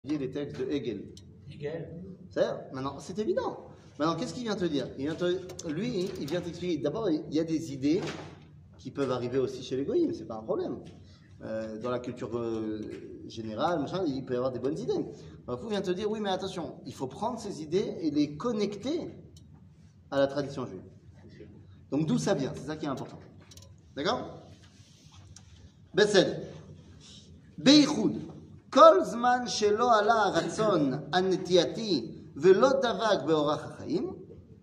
les textes de Hegel. Hegel. Maintenant, c'est évident. Maintenant, qu'est-ce qu'il vient te dire? Lui, il vient t'expliquer. D'abord, il y a des idées qui peuvent arriver aussi chez les goïms, c'est pas un problème. Dans la culture générale, machin, il peut y avoir des bonnes idées. Alors, il vient te dire, oui, mais attention, il faut prendre ces idées et les connecter à la tradition juive. Donc, d'où ça vient? C'est ça qui est important. D'accord? בסדר. בייחוד, כל זמן שלא עלה הרצון הנטייתי ולא דבק באורח החיים,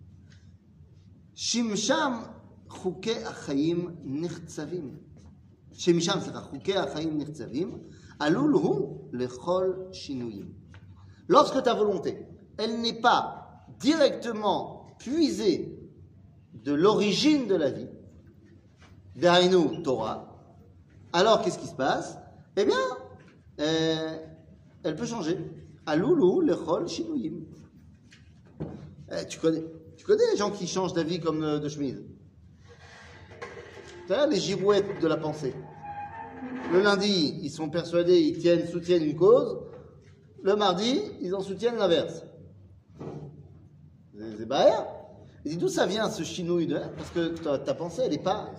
שמשם חוקי החיים נחצבים. חוקי החיים נחצבים, עלול הוא לכל שינויים. Lorsque ta volonté, elle n'est pas directement puisée de l'origine de la vie, d'Aïnou Torah, alors qu'est-ce qui se passe? Eh bien, elle peut changer. Aloulou, lechol, shinuyim. Tu connais les gens qui changent d'avis comme de chemise? Tu vois, les girouettes de la pensée. Le lundi, ils sont persuadés, ils soutiennent une cause. Le mardi, ils en soutiennent l'inverse. C'est baer. Il dit d'où ça vient ce chinouille de... Parce que ta pensée, elle n'est pas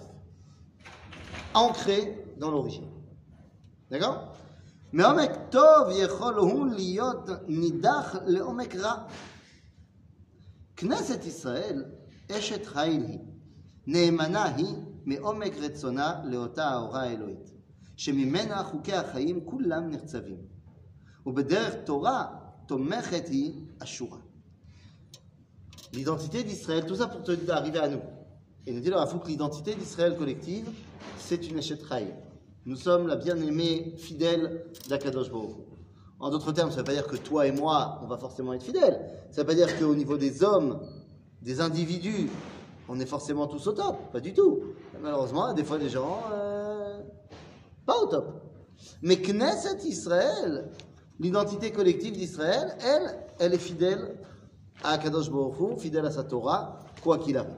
ancrée dans l'origine. D'accord? Mais omek tov yechol hu liyot nidach leomek ra. Knesset Israël eshet chayil hi. Neemana hi meomek retzona leota haora Elohit. שממנה חוקי החיים כולם נחצבים. ובדרך תורה תומכת היא השורה. L'identité d'Israël, tout ça pour te arriver à nous. Et nous dit le Rafouk, l'identité d'Israël collective, c'est une échette raï. Nous sommes la bien-aimée fidèle d'Akadosh Baruch Hu. En d'autres termes, ça ne veut pas dire que toi et moi, on va forcément être fidèles. Ça ne veut pas dire qu'au niveau des hommes, des individus, on est forcément tous au top. Pas du tout. Malheureusement, des fois, des gens... pas au top. Mais Knesset Israël, l'identité collective d'Israël, elle est fidèle à Kadosh Baruch Hu, fidèle à sa Torah, quoi qu'il arrive.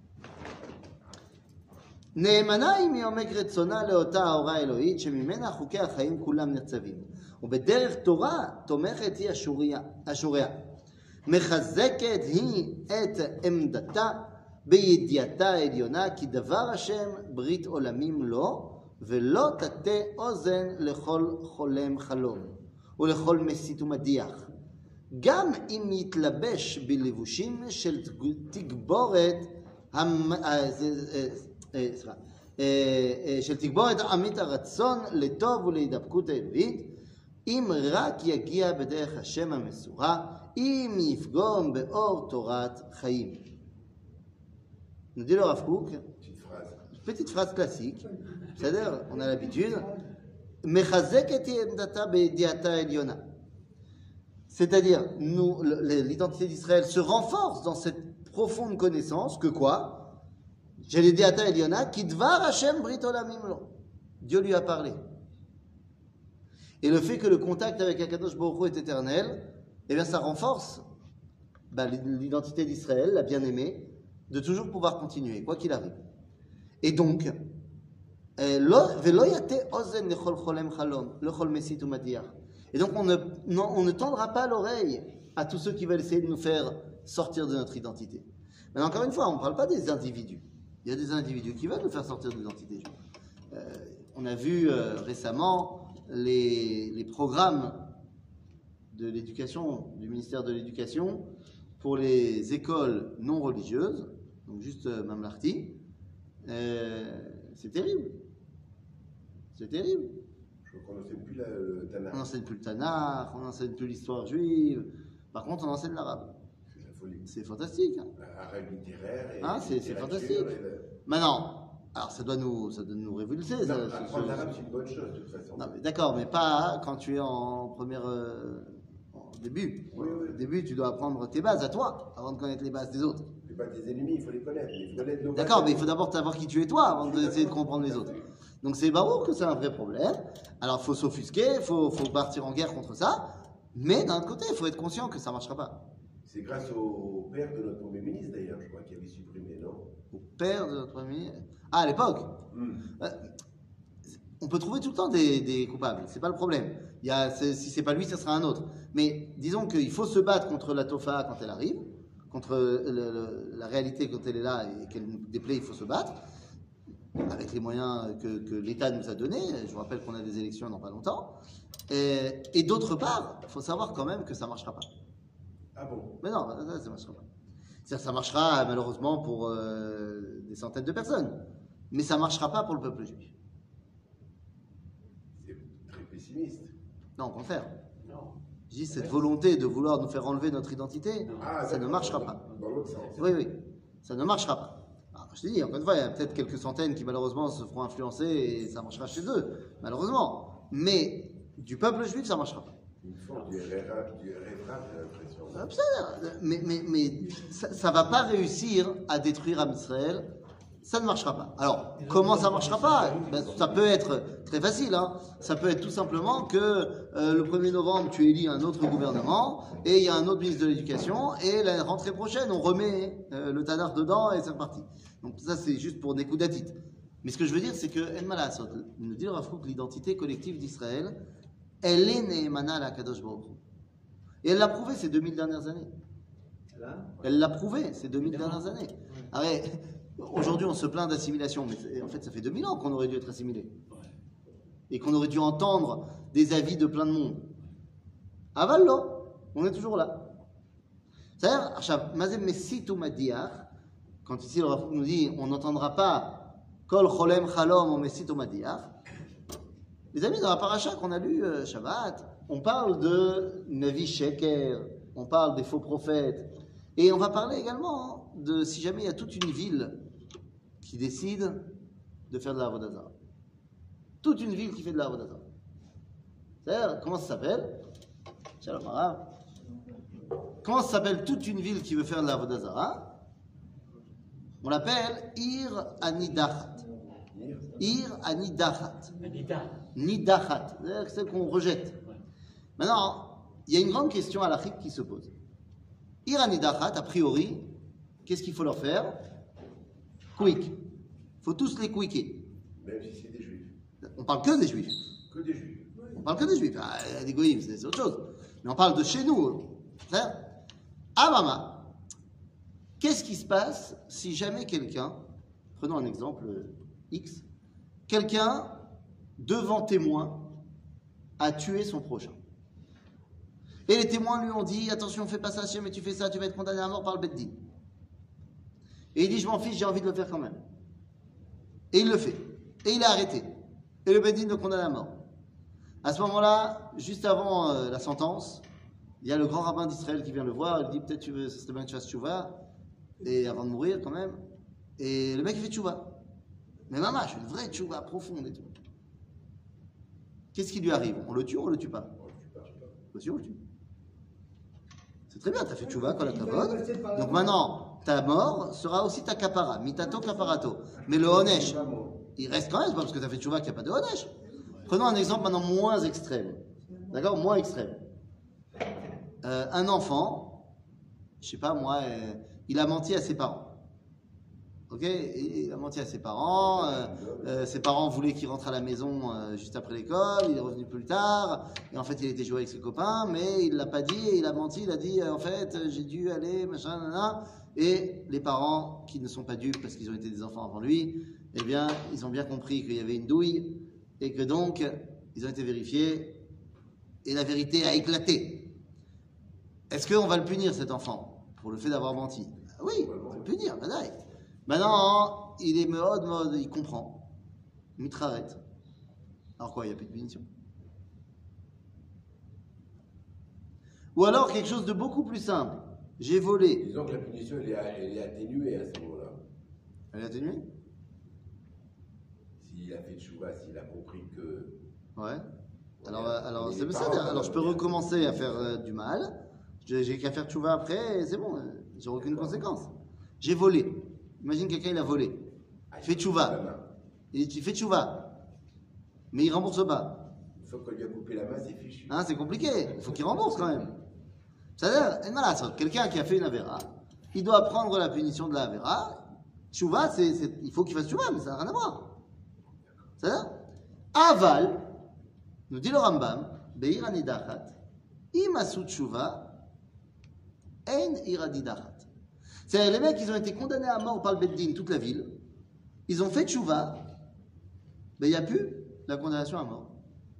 נאמנה היא מעומק רצונה לאותה ההוראה האלוהית שממנה חוקי החיים כולם נחצבים. ובדרך תורה תומכת היא השוריה. מחזקת היא את עמדתה בידיעתה העליונה כי דבר השם ברית עולמים לו ולא תטה אוזן לכל חולם חלום ולכל מסית ומדיח. גם אם יתלבש בלבושים של תגבורת של תגבורת עמית הרצון לטוב ולהידבקות האלוהית, אם רק יגיע בדרך השם המסורה, אם יפגום באור תורת חיים. nous dit le Rav Kook, petite phrase classique, c'est-à-dire, on a l'habitude, c'est-à-dire, l'identité d'Israël se renforce dans cette profonde connaissance que quoi? J'ai les Diata Eliona, qui dvar Hashem brit olamim lo. Dieu lui a parlé. Et le fait que le contact avec Akadosh Baruch Hu est éternel, eh bien, ça renforce l'identité d'Israël, la bien-aimée, de toujours pouvoir continuer, quoi qu'il arrive. Et donc, et donc on ne tendra pas l'oreille à tous ceux qui veulent essayer de nous faire sortir de notre identité. Mais encore une fois, on ne parle pas des individus. Il y a des individus qui veulent nous faire sortir de l'identité. On a vu récemment les programmes de l'éducation, du ministère de l'Éducation, pour les écoles non religieuses, donc juste Mamlarti. C'est terrible. C'est terrible. Je crois qu'on n'enseigne plus le Tanakh. On n'enseigne plus le Tanakh, on n'enseigne plus l'histoire juive. Par contre, on enseigne l'arabe. C'est de la folie. C'est fantastique. Hein. Arabe littéraire et c'est fantastique. Maintenant, alors ça doit nous révulser. Apprendre l'arabe, c'est une bonne chose, de toute façon. Non, mais d'accord, mais pas quand tu es en première... en début. Oui. Au début, tu dois apprendre tes bases à toi, avant de connaître les bases des autres. Les bases des ennemis, il faut les connaître. Il faut connaître nos bases. D'accord, mais il faut d'abord savoir qui tu es toi, avant d'essayer de comprendre les autres. Donc c'est barreau que c'est un vrai problème. Alors il faut s'offusquer, il faut partir en guerre contre ça, mais d'un autre côté, il faut être conscient que ça ne marchera pas. C'est grâce au père de notre Premier ministre d'ailleurs, je crois, qui avait supprimé, non? Au père de notre Premier ministre. Ah, à l'époque On peut trouver tout le temps des coupables, c'est pas le problème. Si c'est pas lui, ce sera un autre. Mais disons qu'il faut se battre contre la tofa quand elle arrive, contre la réalité quand elle est là et qu'elle nous déplaît, il faut se battre avec les moyens que l'État nous a donnés. Je vous rappelle qu'on a des élections dans pas longtemps. Et d'autre part, il faut savoir quand même que ça marchera pas. Ah bon? Mais non, ça marchera pas. C'est-à-dire que ça marchera malheureusement pour des centaines de personnes, mais ça marchera pas pour le peuple juif. C'est très pessimiste. Non, au contraire. Non. Je dis cette volonté de vouloir nous faire enlever notre identité, ça ne marchera pas. Dans l'autre sens. Oui, oui, ça ne marchera pas. Alors, je te dis, encore une fois, il y a peut-être quelques centaines qui malheureusement se feront influencer et ça marchera chez eux, malheureusement. Mais du peuple juif, ça ne marchera pas. Une forme du rêve, j'ai l'impression. Mais ça ne va pas réussir à détruire Am Israël. Ça ne marchera pas. Alors, comment ça ne marchera pas? Ça peut être très facile. Hein. Ça peut être tout simplement que le 1er novembre, tu élis un autre gouvernement et il y a un autre ministre de l'Éducation et la rentrée prochaine, on remet le Tanakh dedans et c'est reparti. Donc ça, c'est juste pour des coups d'attite. Mais ce que je veux dire, c'est que En Malasot, nous dit Rav Kook, l'identité collective d'Israël, elle est Nehemana à la Kadosh Baruch Hu. Et elle l'a prouvé ces 2000 dernières années. Elle l'a prouvé ces 2000 dernières années. Arrête. Aujourd'hui, on se plaint d'assimilation, mais en fait, ça fait 2000 ans qu'on aurait dû être assimilé. Et qu'on aurait dû entendre des avis de plein de monde. Avallo, on est toujours là. C'est-à-dire, Mazem Messit ou Madiach, quand ici le Rav nous dit on n'entendra pas Kol Cholem Chalom ou Messit ou Madiach, les amis, dans la paracha qu'on a lu Shabbat, on parle de Navi Sheker, on parle des faux prophètes, et on va parler également de si jamais il y a toute une ville qui décide de faire de la Avodah Zarah. Toute une ville qui fait de la Avodah Zarah. C'est-à-dire, comment ça s'appelle? Shalom Harav. Comment ça s'appelle toute une ville qui veut faire de la Avodah Zarah? On l'appelle Ir Anidachat. Ir Anidachat. Nidachat. C'est-à-dire celle qu'on rejette. Maintenant, il y a une grande question halachique qui se pose. Ir Anidachat, a priori, qu'est-ce qu'il faut leur faire? Quick. Il faut tous les quicker. Même si c'est des juifs. On parle que des juifs. Que des juifs. On parle que des juifs. Ah, des goïms, c'est autre chose. Mais on parle de chez nous. Mama, qu'est-ce qui se passe si jamais quelqu'un, prenons un exemple X, quelqu'un, devant témoin, a tué son prochain. Et les témoins lui ont dit, attention, fais pas ça, si jamais tu fais ça, tu vas être condamné à mort par le Beddin. Et il dit, je m'en fiche, j'ai envie de le faire quand même. Et il le fait. Et il est arrêté. Et le Beddin le condamne à mort. À ce moment-là, juste avant la sentence, il y a le grand rabbin d'Israël qui vient le voir. Il dit, peut-être ce serait bien que tu fasses tchouva. Et avant de mourir quand même. Et le mec il fait tchouva. Mais mamash, une vraie tchouva profonde et tout. Qu'est-ce qui lui arrive? On le tue ou on le tue pas? On le tue, on le tue. C'est très bien, tu as fait tchouva quand la kavod. Donc maintenant, ta mort sera aussi ta kapara. Mitato kaparato. Mais le honesh, il reste quand même, c'est pas parce que tu as fait tchouva qu'il n'y a pas de honesh. Prenons un exemple maintenant moins extrême. D'accord? Moins extrême. Un enfant, je sais pas moi, il a menti à ses parents. Ok? Il a menti à ses parents voulaient qu'il rentre à la maison juste après l'école, il est revenu plus tard, et en fait il était joué avec ses copains, mais il l'a pas dit, et il a menti, il a dit en fait j'ai dû aller, machin, nanana, et les parents qui ne sont pas dupes parce qu'ils ont été des enfants avant lui, eh bien ils ont bien compris qu'il y avait une douille, et que donc ils ont été vérifiés, et la vérité a éclaté. Est-ce qu'on va le punir cet enfant pour le fait d'avoir menti? Oui, on va le punir, badaï. Maintenant, il est mode, il comprend. Mitraret. Alors quoi, il n'y a plus de punition? Ou alors quelque chose de beaucoup plus simple. J'ai volé. Disons que la punition, elle est atténuée à ce moment-là. Elle est atténuée? S'il a fait tchouva, s'il a compris que... Ouais. Alors c'est ça. Alors je peux recommencer à faire du mal. J'ai qu'à faire tchouva après et c'est bon. J'ai aucune conséquence. J'ai volé. Imagine quelqu'un, il a volé. Il fait tchouva. Il fait tchouva. Mais il rembourse pas. Une fois qu'on lui a coupé la main, c'est fichu. Hein, c'est compliqué. Il faut qu'il rembourse quand même. C'est-à-dire, quelqu'un qui a fait une avéra, il doit prendre la punition de la avéra. Tchouva, il faut qu'il fasse tchouva, mais ça n'a rien à voir. C'est-à-dire, Aval, nous dit le Rambam, Be'ir anidachat, imasu tshuva, en iradidachat. C'est-à-dire, les mecs, ils ont été condamnés à mort par le Beddin, toute la ville. Ils ont fait tshuva, mais il n'y a plus la condamnation à mort.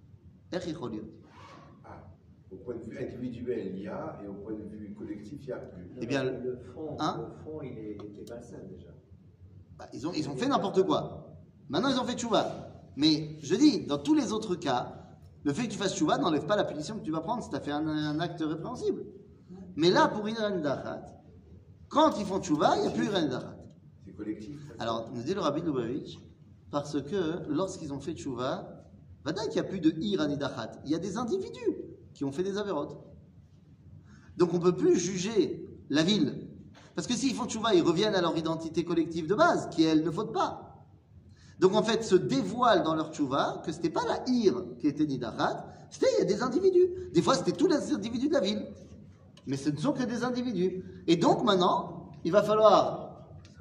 Ah, au point de vue individuel, il y a, et au point de vue collectif, il n'y a plus. Eh bien, le fond, il était malsain déjà. Ils ont fait n'importe quoi. Maintenant, ils ont fait tchouva. Mais je dis, dans tous les autres cas, le fait que tu fasses tchouva n'enlève pas la punition que tu vas prendre si tu as fait un acte répréhensible. Mais là, pour Iran Dachat, quand ils font tchouva, il n'y a plus Iran Dachat. C'est collectif. Alors, nous dit le Rabbi Lubavitch, parce que lorsqu'ils ont fait tchouva, Vadaï qu'il n'y a plus de Iran Dachat. Il y a des individus qui ont fait des avérotes. Donc, on ne peut plus juger la ville. Parce que s'ils font tchouva, ils reviennent à leur identité collective de base, qui elle ne faute pas. Donc en fait, se dévoile dans leur tchouva que ce n'était pas la Ir qui était Nidachat, c'était il y a des individus. Des fois, c'était tous les individus de la ville. Mais ce ne sont que des individus. Et donc maintenant, il va falloir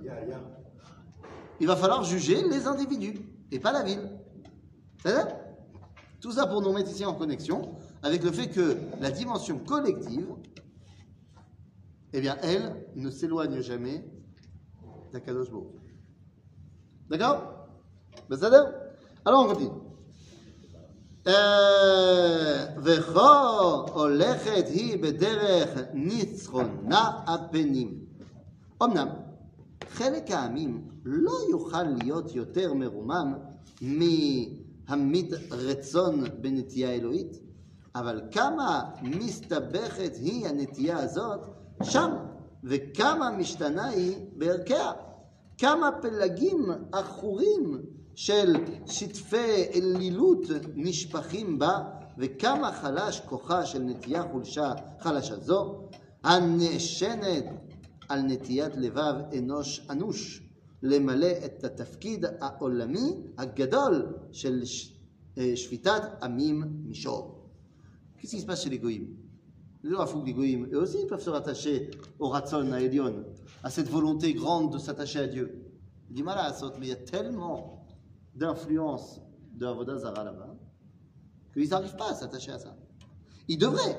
juger les individus, et pas la ville. C'est-à-dire, tout ça pour nous mettre ici en connexion avec le fait que la dimension collective, eh bien, elle ne s'éloigne jamais d'Akadosh Baruch Hu. D'accord? בסדר? Alors on continue. וכה הולכת היא בדרך ניצחונה הפנים. אמנם, חלק העמים לא יוכל להיות יותר מרומם מהמיד רצון בנטייה אלוהית, אבל כמה מסתבכת היא הנטייה הזאת שם, וכמה משתנה היא בערכיה. כמה פלגים עכורים של שטפי אלילות נשפכים בה, וכמה חלש כוחה של נטייה חלשה זו, הנשענת על נטיית לבב אנוש אנוש, למלא את התפקיד העולמי הגדול של שפיטת עמים מישור. Qu'est-ce qui se passe chez les goïms? Les goïms, eux aussi, ils peuvent se rattacher au Ratzon, à Elion, à cette volonté grande de s'attacher à Dieu. Il dit mal à Asot, mais il y a tellement d'influence de Avodah Zara là-bas qu'ils n'arrivent pas à s'attacher à ça. Ils devraient.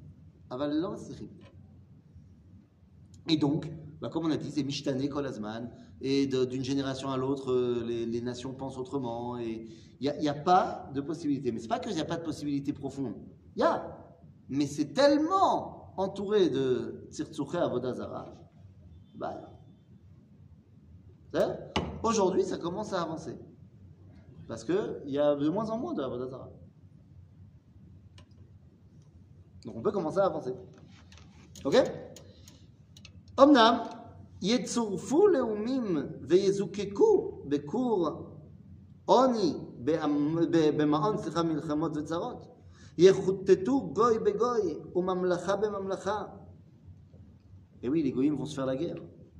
Et donc, comme on a dit, c'est Mishtane Kol Azman, et d'une génération à l'autre, les nations pensent autrement, et il n'y a pas de possibilité. Mais ce n'est pas qu'il n'y a pas de possibilité profonde. Il y a. Mais c'est tellement entouré de Tzirtzouché Avodah Zara. Aujourd'hui, ça commence à avancer. Parce qu'il y a de moins en moins de Avodah Zara. Donc on peut commencer à avancer. Ok? Omnam, יצורפו לאומים ויזוקקו בכור עוני במעון מלחמות וצרות. יחוטטו גוי בגוי וממלכה בממלכה. Et oui, les goïms vont se faire la guerre.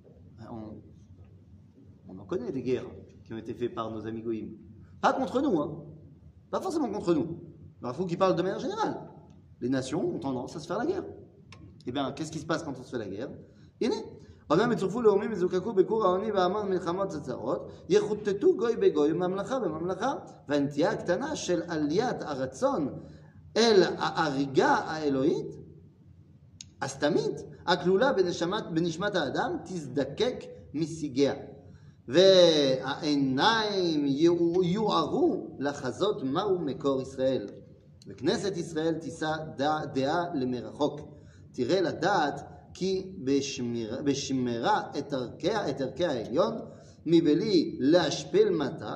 On en connaît des guerres qui ont été faites par nos amis goïms. Pas contre nous, hein. Pas forcément contre nous. Il faut qu'ils parlent de manière générale. Les nations ont tendance à se faire la guerre. Eh bien, qu'est-ce qui se passe quand on se fait la guerre? הנה, אומנם יצורפו לאומים וזוקקו בכור העוני והמון מלחמות וצרות, יחוטטו גוי בגוי וממלכה בממלכה, והנטייה הקטנה של עליית הרצון אל ההריגה האלוהית, הסתמית, הכלולה בנשמת האדם, תזדקק משיגיה. והעיניים יוערו לחזות מהו מקור ישראל. וכנסת ישראל תישא דעה למרחוק. תראה לדעת כי בשמירה את ערכי העליון, מבלי להשפיל מטה,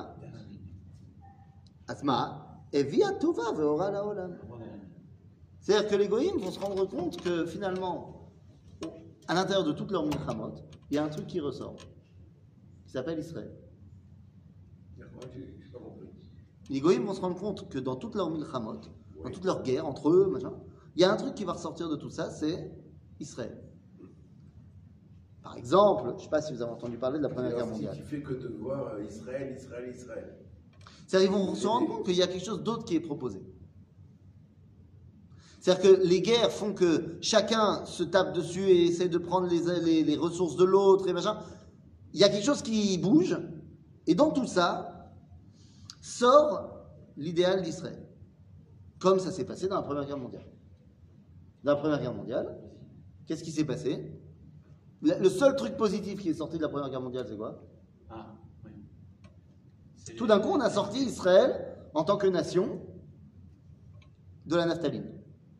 אז מה? הביאה טובה ואורה לעולם. C'est-à-dire que les goïms vont se rendre compte que finalement, à l'intérieur de toutes leurs milchamot, il y a un truc qui ressort, qui s'appelle Israël. Les goïms vont se rendre compte que dans toutes leurs milchamot, dans toutes leurs guerres entre eux, machin, il y a un truc qui va ressortir de tout ça, c'est Israël. Par exemple, je ne sais pas si vous avez entendu parler de la Première Guerre mondiale. Qui fait que de voir Israël, Israël, Israël. C'est-à-dire qu'ils vont se rendre compte qu'il y a quelque chose d'autre qui est proposé. C'est-à-dire que les guerres font que chacun se tape dessus et essaie de prendre les ressources de l'autre et machin. Il y a quelque chose qui bouge, et dans tout ça sort l'idéal d'Israël, comme ça s'est passé dans la Première Guerre mondiale. Dans la Première Guerre mondiale, qu'est-ce qui s'est passé? Le seul truc positif qui est sorti de la Première Guerre mondiale, c'est quoi? Ah, oui. Tout d'un coup, on a sorti Israël en tant que nation de la naphtaline.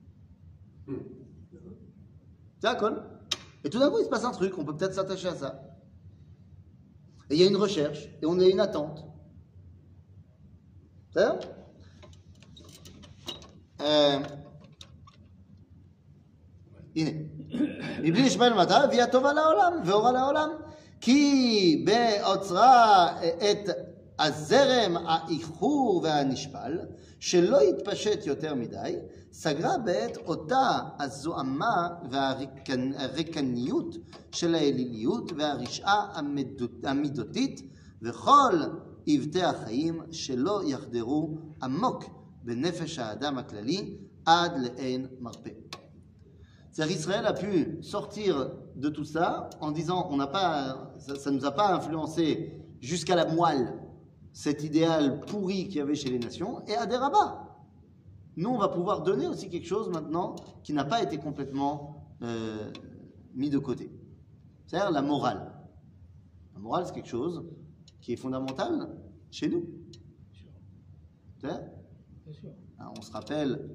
C'est un col. Et tout d'un coup, il se passe un truc, on peut peut-être s'attacher à ça. Et il y a une recherche, et on a une attente. C'est ça? הנה, מבלי לשמוע למטה, הביאה טובה לעולם ואורה לעולם, כי בעוצרה את הזרם האיחור והנשפל, שלא יתפשט יותר מדי, סגרה בעת אותה הזוהמה והריקניות של האליליות והרשעה המידותית, וכל עבדי החיים שלא יחדרו עמוק בנפש האדם הכללי עד לאין מרפא. C'est-à-dire Israël a pu sortir de tout ça en disant ça ne nous a pas influencé jusqu'à la moelle cet idéal pourri qu'il y avait chez les nations, et à des rabats. Nous, on va pouvoir donner aussi quelque chose maintenant qui n'a pas été complètement mis de côté. C'est-à-dire la morale. La morale, c'est quelque chose qui est fondamental chez nous. C'est-à-dire, on se rappelle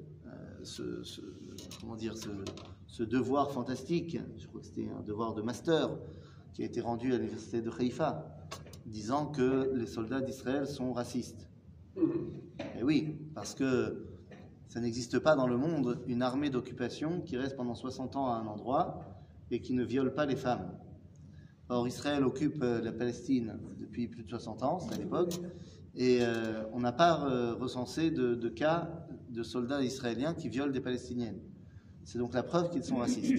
ce devoir fantastique, je crois que c'était un devoir de master qui a été rendu à l'université de Haïfa, disant que les soldats d'Israël sont racistes. Et oui, parce que ça n'existe pas dans le monde une armée d'occupation qui reste pendant 60 ans à un endroit et qui ne viole pas les femmes. Or, Israël occupe la Palestine depuis plus de 60 ans, c'est à l'époque, et on n'a pas recensé de cas de soldats israéliens qui violent des Palestiniennes. C'est donc la preuve qu'ils sont racistes.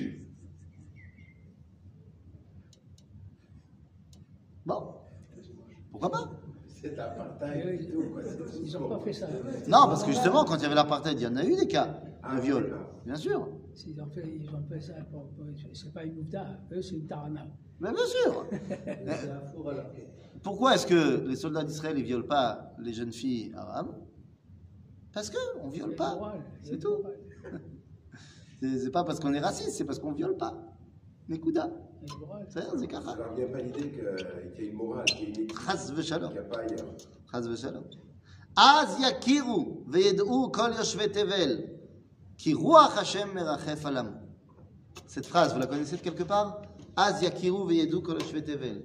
Bon, pourquoi pas? C'est l'apartheid et tout, quoi. Ils n'ont pas fait ça. Non, parce que justement, quand il y avait l'apartheid, il y en a eu des cas de viol, bien sûr. Ils ont fait ça c'est pas une oufda, eux c'est une tarana. Mais bien sûr. Pourquoi est-ce que les soldats d'Israël ne violent pas les jeunes filles arabes? Parce qu'on ne viole pas, c'est tout. C'est pas parce qu'on est raciste, c'est parce qu'on ne viole pas. Nekuda. C'est Kacha. Alors, il n'y a pas l'idée qu'il y a une morale, qu'il y a une éthique Chas v'shalom. qu'il n'y a pas ailleurs. Chas v'shalom. Az yakiru v'yed'u kol yoshvei tevel ki ruach Hashem merachef alam. Cette phrase, vous la connaissez de quelque part? Az yakiru v'yed'u kol yoshvei tevel.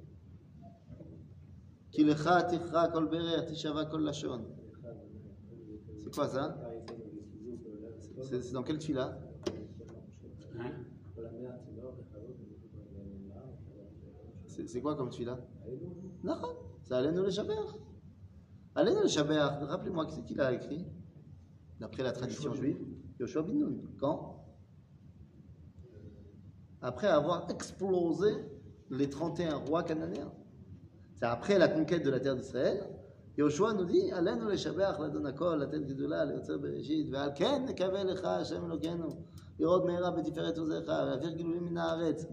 Ki lecha tichra kol berer tishava kol lashon. C'est quoi ça? C'est dans quel tefila? C'est quoi comme tefila? Non, c'est Alenu le Shaber. Alenu le Shaber, rappelez-moi qui c'est qui l'a écrit, d'après la tradition juive. Yoshua bin Nun. Quand? Après avoir explosé les 31 rois cananéens. C'est après la conquête de la terre d'Israël. Yoshua nous dit, Alenu le Shaber, l'Adon Hakol, la tête Gidula, le Yotzer Bereshit, ve'al ken nekaveh lecha Hashem Elokeinu, lirot meira betiferet ozecha, ve'avir gilulim min haaretz.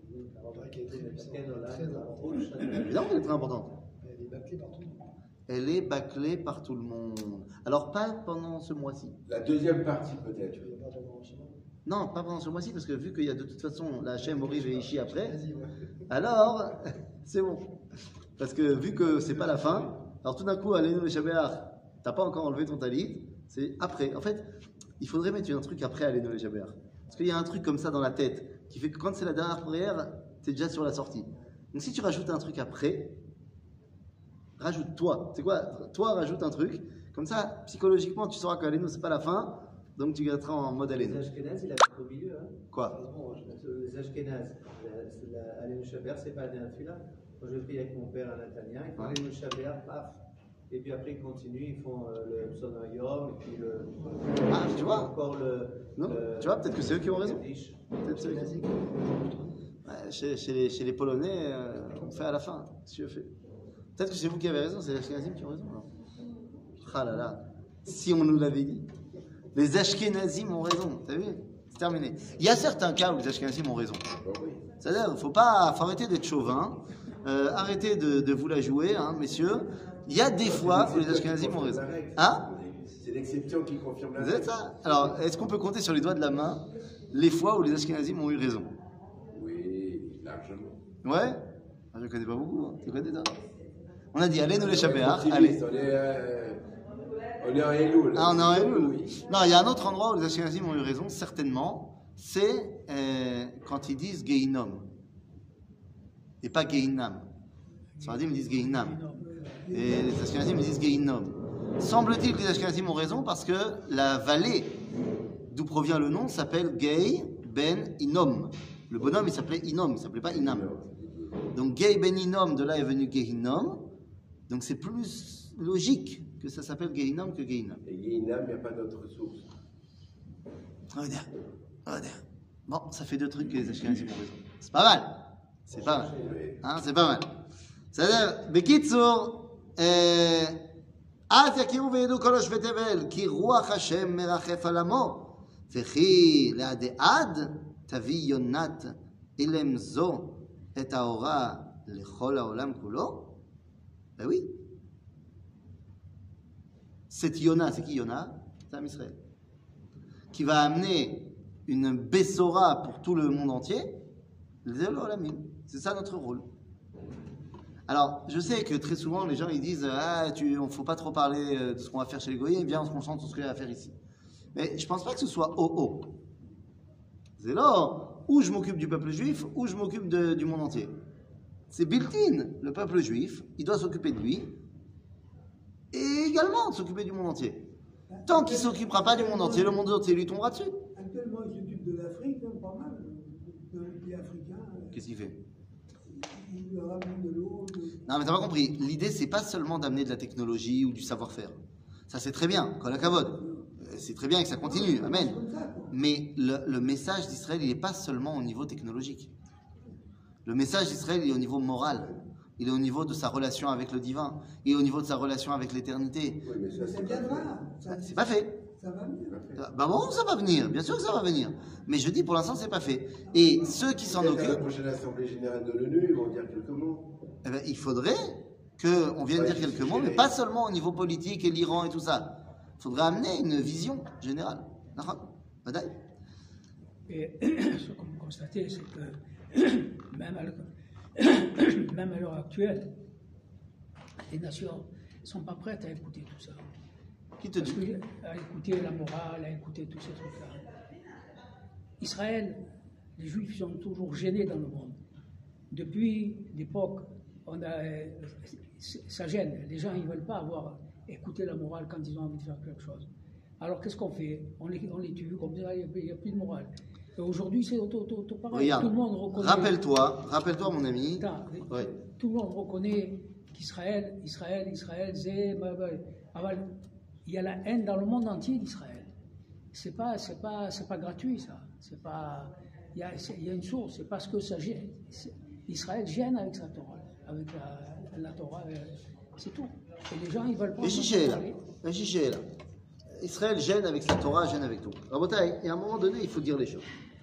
Évidemment qu'elle est très importante. Elle est bâclée par tout le monde. Alors, pas pendant ce mois-ci. La deuxième partie, peut-être. Non, pas pendant ce mois-ci, parce que vu qu'il y a de toute façon la Hachem, Oriv et Ishi après, alors, c'est bon. Parce que vu que c'est pas la fin, alors tout d'un coup, Alenu le Shabeach, t'as pas encore enlevé ton talit, c'est après. En fait, il faudrait mettre un truc après Alenu le Shabeach. Parce qu'il y a un truc comme ça dans la tête, qui fait que quand c'est la dernière prière, t'es déjà sur la sortie. Donc si tu rajoutes un truc après, rajoute-toi. C'est quoi? Toi, rajoute un truc. Comme ça, psychologiquement, tu sauras qu'Alenu, c'est pas la fin, donc tu garderas en mode Alenu. Les Ashkénazes, il a au milieu. Hein. Quoi? Les Ashkénazes, Alenu Shaber, c'est pas la dernière tefila. Quand je prie avec mon père à Natania, ils font Alenu Shaber, paf. Et puis après, ils continuent, ils font le Pson Hayom, et puis le. Ah, tu vois? Encore le. Non, tu vois, peut-être que c'est eux qui ont raison. Peut-être c'est eux qui ont raison. Ouais, chez les Polonais, on fait à la fin, si je fais. Peut-être que c'est vous qui avez raison, c'est les Ashkenazim qui ont raison. Alors. Ah là là, si on nous l'avait dit. Les Ashkenazim ont raison, t'as vu? C'est terminé. Il y a certains cas où les Ashkenazim ont raison. C'est-à-dire, faut arrêter d'être chauvin, arrêtez de vous la jouer, hein, messieurs. Il y a des fois où les Ashkenazim ont raison. Hein? C'est l'exception qui confirme la Vous règle. êtes ça? Alors, est-ce qu'on peut compter sur les doigts de la main les fois où les Ashkenazim ont eu raison? Oui, largement. Ouais? Ah, je ne connais pas beaucoup. Hein. Tu connais toi? On a dit, allez nous les On est Shabbat. optimiste, Allez. On est en Elul. Ah, on est en Elul. Oui. Non, il y a un autre endroit où les Ashkenazim ont eu raison, certainement. C'est quand ils disent Geinom. Et pas Geinam. Les Sfaradim disent Geinam. Et les Ashkenazim disent Geinom. Semble-t-il que les Ashkenazim ont raison parce que la vallée d'où provient le nom s'appelle Gei Ben Inom. Le bonhomme il s'appelait Inom, il ne s'appelait pas Inam. Donc Gei Ben Inom, de là est venu Geinom. Donc c'est plus logique que ça s'appelle Geinom que Geinam. Et Guéinam, il n'y a pas d'autre source. Regarde. Bon, ça fait deux trucs que les Ashkenazim ont raison. C'est pas mal. C'est pas mal. Hein, c'est pas mal. C'est-à-dire, Bekitsur, אז יכירו וידעו כל יושבי תבל, כי רוח השם מרחף על עמו, וכי לעד תביא יונת אילם זו את האורה לכל העולם כולו? Ben oui. Cette Yona, c'est qui Yona? C'est Am Israël. Qui va amener une Bessora pour tout le monde entier. C'est ça notre rôle. Alors, je sais que très souvent, les gens ils disent on faut pas trop parler de ce qu'on va faire chez les Goyim, viens, on se concentre sur ce qu'il y a à faire ici. Mais je pense pas que ce soit haut. C'est là où je m'occupe du peuple juif, ou je m'occupe du monde entier. C'est built-in. Le peuple juif, il doit s'occuper de lui et également de s'occuper du monde entier. Tant qu'il ne s'occupera pas du monde entier, le monde entier lui tombera dessus. Actuellement, il s'occupe de l'Afrique, pas mal, dans les pays africains. Qu'est-ce qu'il fait? Il ramène de l'eau. Non, mais t'as pas compris. L'idée, c'est pas seulement d'amener de la technologie ou du savoir-faire. Ça, c'est très bien. Kol hakavod. C'est très bien et que ça continue. Amen. Mais le message d'Israël, il n'est pas seulement au niveau technologique. Le message d'Israël, il est au niveau moral. Il est au niveau de sa relation avec le divin. Il est au niveau de sa relation avec l'éternité. Oui, mais ça, Ça c'est viendra. C'est pas fait. Ça va venir. Bah bon, ça va venir. Bien sûr que ça va venir. Mais je dis, pour l'instant, c'est pas fait. Et ceux qui s'en Peut-être à la occupent, prochaine assemblée générale de l'ONU, ils vont dire quelques mots. eh ben, il faudrait qu'on vienne dire quelques mots, mais pas seulement au niveau politique et l'Iran et tout ça. Il faudrait amener une vision générale. Badaï. Et ce qu'on peut constater, c'est que même à l'heure actuelle, les nations ne sont pas prêtes à écouter tout ça. Qui te dit? À écouter la morale, à écouter tous ces trucs-là. Israël, les Juifs sont toujours gênés dans le monde. Depuis l'époque, ça gêne. Les gens, ils ne veulent pas écouter la morale quand ils ont envie de faire quelque chose. Alors qu'est-ce qu'on fait? On les tue, comme ça, il n'y a plus de morale. Et aujourd'hui, c'est tout pareil. Regarde, Tout le monde reconnaît. Rappelle-toi, mon ami. Attends, Ouais. tout le monde reconnaît qu'Israël, c'est. Il y a la haine dans le monde entier d'Israël. C'est pas gratuit, ça. C'est pas. Il y a une source. C'est parce que ça gêne. Israël gêne avec sa Torah, avec la Torah. C'est tout. Et les gens, ils veulent pas. Et chiché là. Israël gêne avec sa Torah, gêne avec tout. Rabotai, et à un moment donné, il faut dire les choses.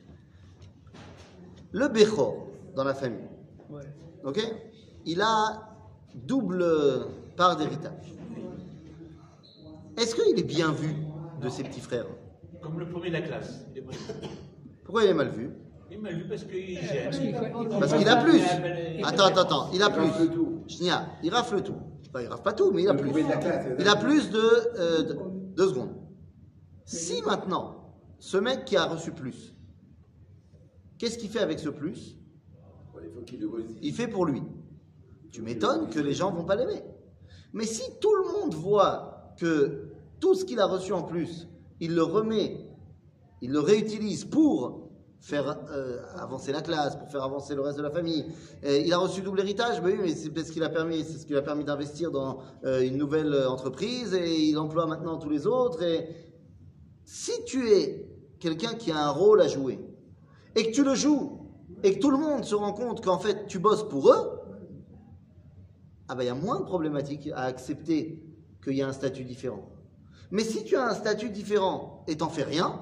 Le Bechor, dans la famille, Ouais. ok, il a double part d'héritage. Est-ce qu'il est bien vu de ses petits frères? Comme le premier de la classe. Il est mal vu. Pourquoi il est mal vu? Il est mal vu parce qu'il gêne. Parce qu'il a plus. Attends, il a Il rafle plus. tout. Chnia, il rafle tout. Enfin, il rafle pas tout, mais il a Le plus. premier de la classe, Il a plus de 2 secondes. Si maintenant, ce mec qui a reçu plus, qu'est-ce qu'il fait avec ce plus? Il faut qu'il le réussisse. Il fait pour lui. Tu m'étonnes que les gens vont pas l'aimer. Mais si tout le monde voit que tout ce qu'il a reçu en plus, il le remet, il le réutilise pour faire avancer la classe, pour faire avancer le reste de la famille. Il a reçu double héritage, ben oui, mais c'est ce qui lui a permis d'investir dans une nouvelle entreprise et il emploie maintenant tous les autres. Et si tu es quelqu'un qui a un rôle à jouer et que tu le joues et que tout le monde se rend compte qu'en fait tu bosses pour eux, ah ben il y a moins de problématiques à accepter qu'il y a un statut différent. Mais si tu as un statut différent et t'en fais rien,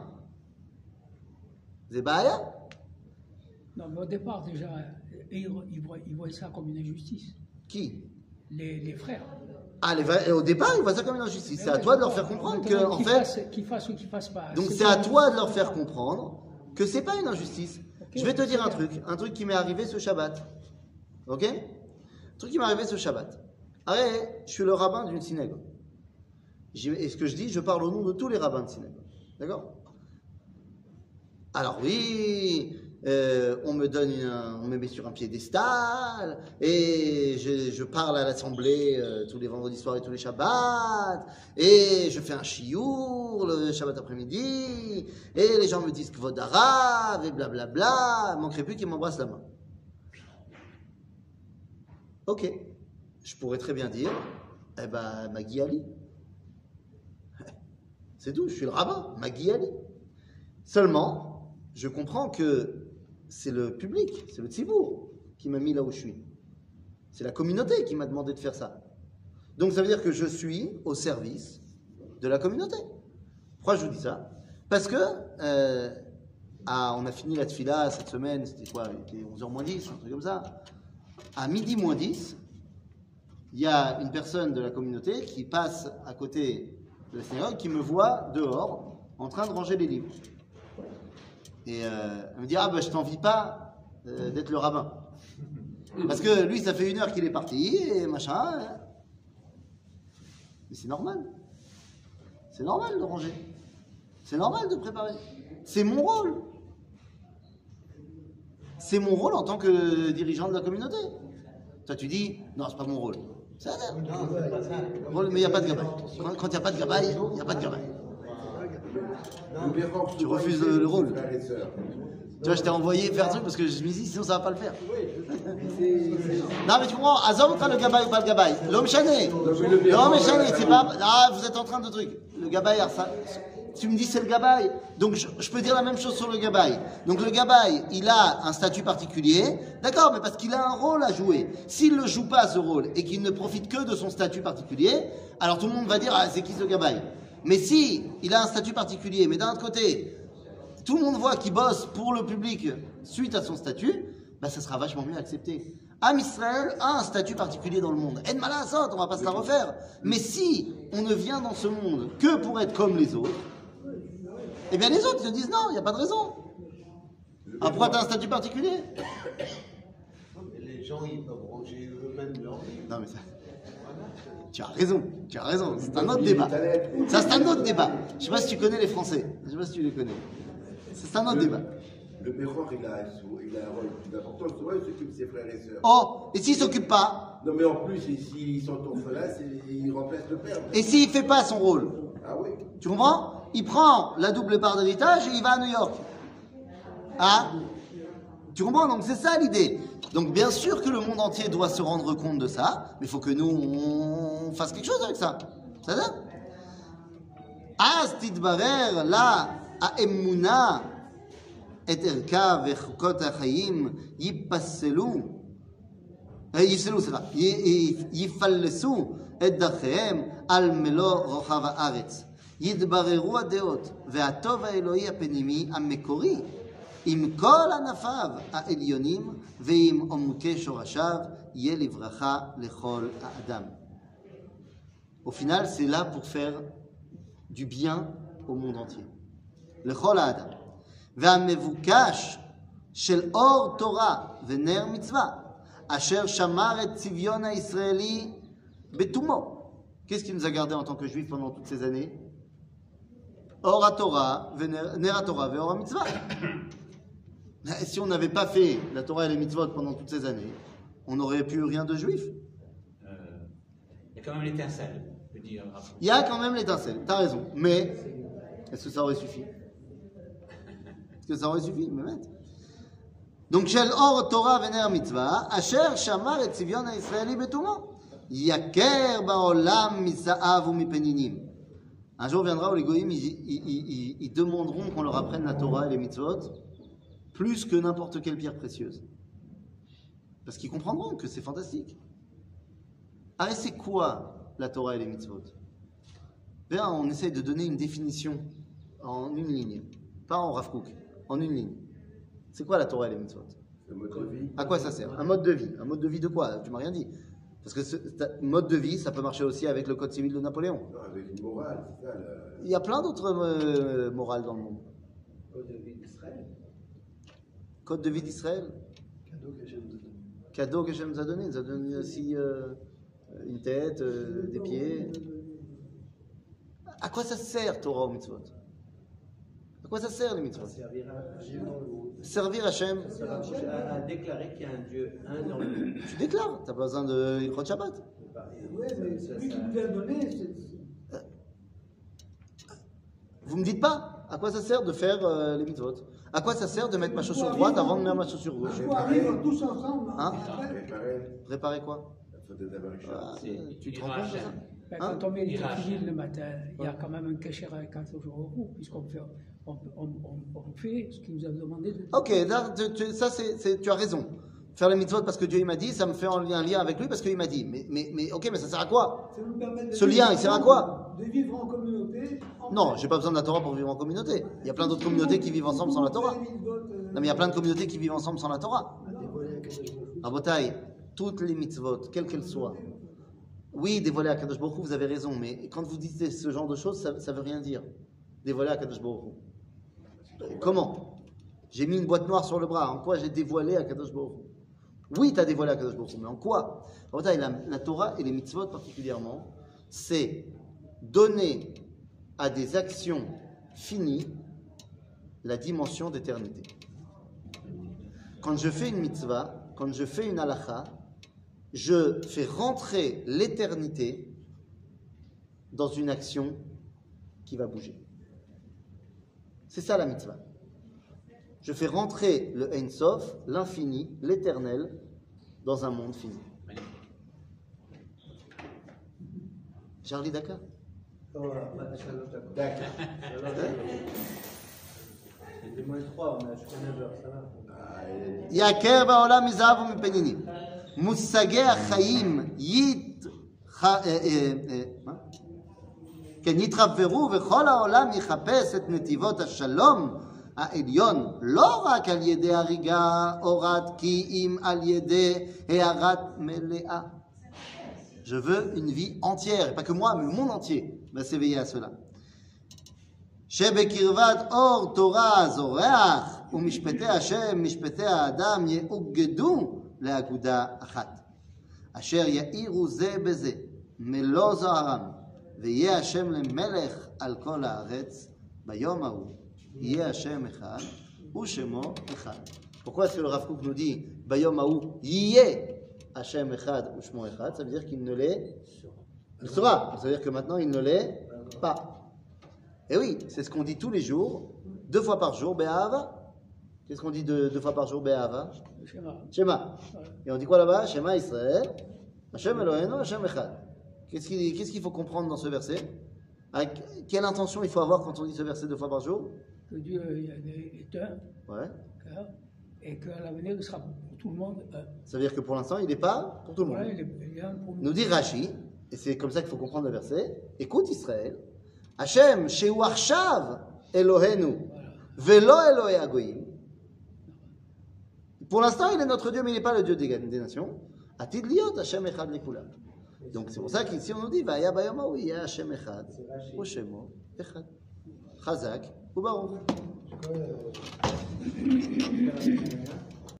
c'est baya. Non, mais au départ, déjà, ils voient ça comme une injustice. Qui? Les frères. Et au départ, ils voient ça comme une injustice. C'est à toi de leur faire comprendre que, en fait, qu'ils fassent ou qu'ils fassent pas. donc c'est à toi de leur faire comprendre que c'est pas une injustice. Je vais te dire un truc qui m'est arrivé ce Shabbat. Ok? Un truc qui m'est arrivé ce Shabbat. Allez, je suis le rabbin d'une synagogue. Et ce que je dis, je parle au nom de tous les rabbins de synagogue. D'accord? Alors oui, on me met sur un piédestal, et je parle à l'assemblée tous les vendredis soirs et tous les Shabbats, et je fais un chiour le Shabbat après-midi, et les gens me disent Kvod Harav, et blablabla, il manquerait plus qu'ils m'embrassent la main. Ok, je pourrais très bien dire, eh ben, Magui Ali. C'est tout, je suis le rabbin, Magui Ali. Seulement, je comprends que c'est le public, c'est le tzibour qui m'a mis là où je suis. C'est la communauté qui m'a demandé de faire ça. Donc ça veut dire que je suis au service de la communauté. Pourquoi je vous dis ça? Parce que on a fini la tfila cette semaine, c'était quoi? Il était 11h moins 10, un truc comme ça. À midi moins 10, il y a une personne de la communauté qui passe à côté de la synagogue qui me voit dehors en train de ranger les livres. Et elle me dit, je t'envie pas d'être le rabbin. Parce que lui, ça fait 1 heure qu'il est parti, et machin. Mais c'est normal. C'est normal de ranger. C'est normal de préparer. C'est mon rôle. C'est mon rôle en tant que dirigeant de la communauté. Toi, tu dis, non, c'est pas mon rôle. C'est un rôle, mais il n'y a pas de gabaye. Quand il n'y a pas de gabaye, il n'y a pas de gabaye. Tu refuses le rôle. Tu vois, je t'ai envoyé faire un truc parce que je me dis, sinon ça va pas le faire. Non, mais tu comprends, Azom, le gabaye ou pas le gabaye. L'homme chané. L'homme chané, c'est pas. Ah, vous êtes en train de truc. Le gabaye, tu me dis c'est le gabaye. Donc je peux dire la même chose sur le gabaye. Donc le gabaye, il a un statut particulier. D'accord, mais parce qu'il a un rôle à jouer. S'il ne joue pas ce rôle et qu'il ne profite que de son statut particulier, alors tout le monde va dire, c'est qui ce gabaye? Mais si il a un statut particulier, mais d'un autre côté, tout le monde voit qu'il bosse pour le public suite à son statut, ça sera vachement mieux accepté. Am Israël a un statut particulier dans le monde. En malasot, on va pas se la refaire. Mais si on ne vient dans ce monde que pour être comme les autres, eh bien les autres se disent non, il n'y a pas de raison. Pourquoi tu as un statut particulier? Les gens, ils peuvent ranger eux-mêmes leur livre. Non mais ça... Tu as raison, c'est un autre débat. Ça, c'est un autre débat. Je ne sais pas si tu connais les Français, je ne sais pas si tu les connais. C'est un autre débat. Le Béchor, il a un rôle plus important, souvent il s'occupe de ses frères et sœurs. Oh, et s'il ne s'occupe pas? Non mais en plus, s'ils sont orphelins, il remplace le père. Et s'il ne fait pas son rôle? Ah oui. Tu comprends? Il prend la double part d'héritage et il va à New York. Tu comprends? Donc c'est ça l'idée. Donc bien sûr que le monde entier doit se rendre compte de ça, mais il faut que nous, on fasse quelque chose avec ça. Ça va? Az titbarer la ha'emuna et erka vechukot ha'chayim yipasselu yifallesu et dachehem al melo rochav haaretz yitbareru hadeot ve'atov ha'eloi ha'penimi ha'mekori עם כל ענפיו העליונים ועם עומקי שורשיו יהיה לברכה לכל האדם. Au final, c'est là pour faire du bien au monde entier. לכל האדם. והמבוקש של אור תורה ונר מצווה, אשר שמר את צביון הישראלי בתומו. Qu'est-ce qui nous a gardé en tant que juifs pendant toutes ces années? Or à Torah, ner à Torah, ve'or à mitzvah. Si on n'avait pas fait la Torah et les mitzvot pendant toutes ces années, on n'aurait plus rien de juif. Il y a quand même l'étincelle, je veux dire. Il y a quand même l'étincelle, t'as raison. Mais, est-ce que ça aurait suffi? Est-ce que ça aurait suffi? Donc, Shel Or Torah Vener Mitzvah, Asher Shamar et Tzivion Israeli Betumo, Yaker Baolam Misa'av ou Mipeninim. Un jour viendra où les goyim, ils demanderont qu'on leur apprenne la Torah et les mitzvot plus que n'importe quelle pierre précieuse. Parce qu'ils comprendront que c'est fantastique. Alors, c'est quoi la Torah et les mitzvot? Bien, on essaye de donner une définition en une ligne. Pas en Rav Kook, en une ligne. C'est quoi la Torah et les mitzvot? Le mode de vie. À quoi ça sert? Un mode de vie. Un mode de vie de quoi? Tu m'as rien dit. Parce que ce mode de vie, ça peut marcher aussi avec le code civil de Napoléon. Non, avec une morale, c'est ça. Il y a plein d'autres morales dans le monde. Code de vie d'Israël. Code de vie d'Israël. Cadeau que Hachem nous a donné. Il nous a donné aussi une tête, des pieds. À quoi ça sert, Torah ou mitzvot? À quoi ça sert, les mitzvot? Servir à Hachem. Servir Hachem. À déclarer qu'il y a un Dieu, un dans le monde. Tu déclares, tu n'as pas besoin de Ilchot Shabbat. Oui, mais celui qui nous a donné, c'est. Vous me dites pas à quoi ça sert de faire les mitzvot? À quoi ça sert de mettre ma chaussure droite avant de mettre ma chaussure gauche? On arrive tous ensemble. Hein? Préparer Préparer quoi? la faute des Américains. Ah, C'est- tu te il rends compte de ça? rachète. Ben, Hein? quand on met les Mirage. tefilines le matin, il y a quand même un cachet à 4 jours au bout, puisqu'on fait, on fait ce qu'il nous a demandé de Ok, là, ça tu as raison. Faire les mitzvot parce que Dieu il m'a dit, ça me fait un lien avec lui parce qu'il m'a dit. Mais ok, mais ça sert à quoi? Ça nous permet de Ce vivre lien, il sert à quoi? De vivre en communauté. Non, j'ai pas besoin de la Torah pour vivre en communauté. Il y a plein d'autres communautés qui vivent ensemble sans la Torah. Non, mais il y a plein de communautés qui vivent ensemble sans la Torah. Rabotai, toutes les mitzvot, quelles qu'elles soient. Oui, dévoiler à Kadosh Baruch Hu, vous avez raison, mais quand vous dites ce genre de choses, ça veut rien dire. Dévoiler à Kadosh Baruch Hu. Comment? J'ai mis une boîte noire sur le bras. En quoi j'ai dévoilé à Kadosh Baruch Hu? Oui, tu as dévoilé à Kadosh Baruch Hu, mais en quoi? Rabotai, la Torah et les mitzvot particulièrement, c'est donner à des actions finies la dimension d'éternité. Quand je fais une mitzvah, quand je fais une halakha, je fais rentrer l'éternité dans une action qui va bouger. C'est ça la mitzvah. Je fais rentrer le Ein Sof, l'infini, l'éternel, dans un monde fini. Charlie Dakar? D'accord. C'est moins 3, on a jusqu'à 9h, ça va. Ah, il a dit. יעקר בעולם מזהב ומפנינים. מושגי החיים כן, יתחברו וכל העולם יחפש את נתיבות השלום העליון, לא רק על ידי הריגה או רד, כי אם על ידי הערת מלאה. Je veux une vie entière, et pas que moi, mais le monde entier va s'éveiller à cela. שבקרבת אור תורה זורח, ומשפטי השם, משפטי האדם, יאוגדו לאגודה אחת. אשר יאירו זה בזה, מלוא זוהרם, ויהיה השם למלך על כל הארץ, ביום ההוא, יהיה השם אחד, ושמו אחד. Pourquoi est-ce que le Rav Kook nous dit, ביום ההוא, יהיה Hachem Echad ou Shmo Echad, ça veut dire qu'il ne l'est, il sera, ça veut dire que maintenant il ne l'est pas. Et oui, c'est ce qu'on dit tous les jours, 2 fois par jour, Be'ahava. Qu'est-ce qu'on dit 2 fois par jour, Be'ahava? le schéma. Shema. Et on dit quoi là-bas? Shema Israël, Hachem Eloheinu, Hachem Echad. Qu'est-ce qu'il faut comprendre dans ce verset? Quelle intention il faut avoir quand on dit ce verset 2 fois par jour? Que Dieu est un, Ouais. et qu'à l'avenir il sera pour tout le monde un. Ça veut dire que pour l'instant, il n'est pas pour tout le monde. Voilà, il est un pour nous. Nous dit Rashi, et c'est comme ça qu'il faut comprendre le verset, écoute Israël, Hachem, Shehu Arshav Elohenu, Velo Elohe Agoyim. Pour l'instant, il est notre Dieu, mais il n'est pas le Dieu des nations. Atid liot Hachem Echad Lekulam. Donc c'est pour ça qu'ici on nous dit, Vaya Bayom Hahu Yeh Hachem Echad, Ushemo Echad. Chazak, Ubaruch.